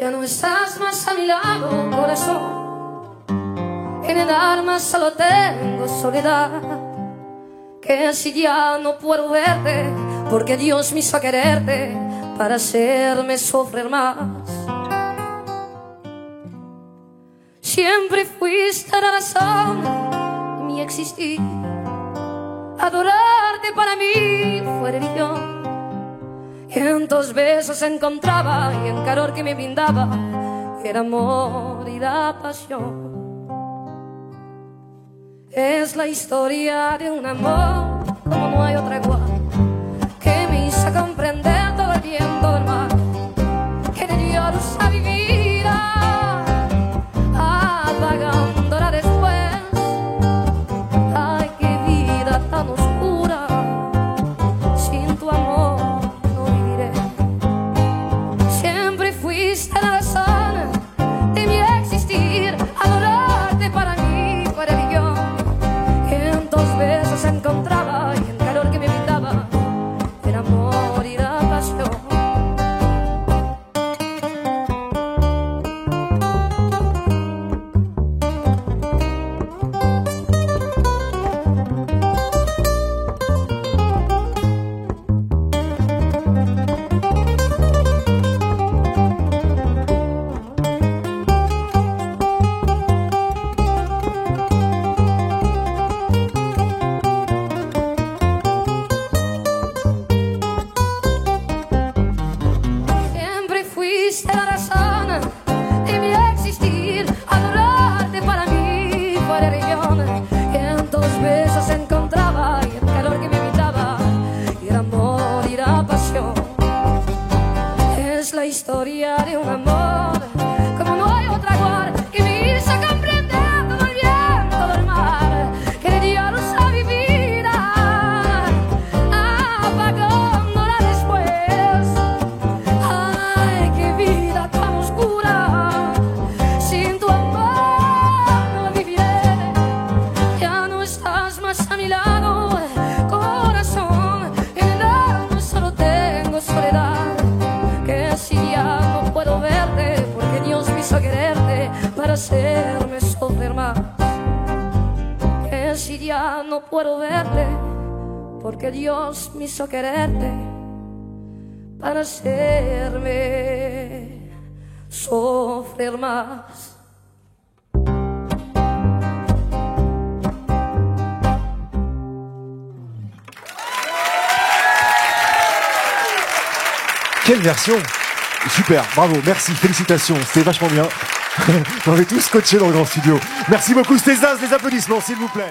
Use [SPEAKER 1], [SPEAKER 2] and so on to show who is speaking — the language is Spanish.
[SPEAKER 1] Ya no estás más a mi lado, corazón. En el alma solo tengo soledad. Que si ya no puedo verte, porque Dios me hizo quererte para hacerme sufrir más. Siempre fuiste la razón de mi existir. Adorarte para mí fue religión. Y en tus besos encontraba, y en calor que me brindaba, era amor y la pasión. Es la historia de un amor como no hay otra igual, que me hizo comprender todo el bien, todo el mal, que le dio luz a mi vida, apagándola después. Ay, qué vida tan oscura, sin tu amor no viviré. Siempre fuiste la razón de mi existir. Adorarte para mí fue religión. En tus besos encontraba, y en calor que me brindaba, era amor y la pasión. Siempre fuiste la razón de mi existir. Adorarte para mí fue religión. Y en tus besos encontraba, y el calor que me brindaba, y el amor y la pasión. Es la historia de un amor como no hay otra igual, que me hizo comprender todo el bien, todo el mal, que le dio luz a mi vida, apagándola después. Ay, qué vida tan oscura, sin tu amor no viviré. Ya no estás más a mi lado, corazón. En el alma solo tengo soledad. Que si ya no puedo verte, porque Dios me hizo quererte para hacerme sufrir más. Que si ya no puedo verte, porque Dios me hizo quererte para hacerme sufrir más.
[SPEAKER 2] Quelle version! Super, bravo, merci, félicitations, c'était vachement bien. On est tous scotchés dans le grand studio. Merci beaucoup, c'était Zaz, des applaudissements s'il vous plaît.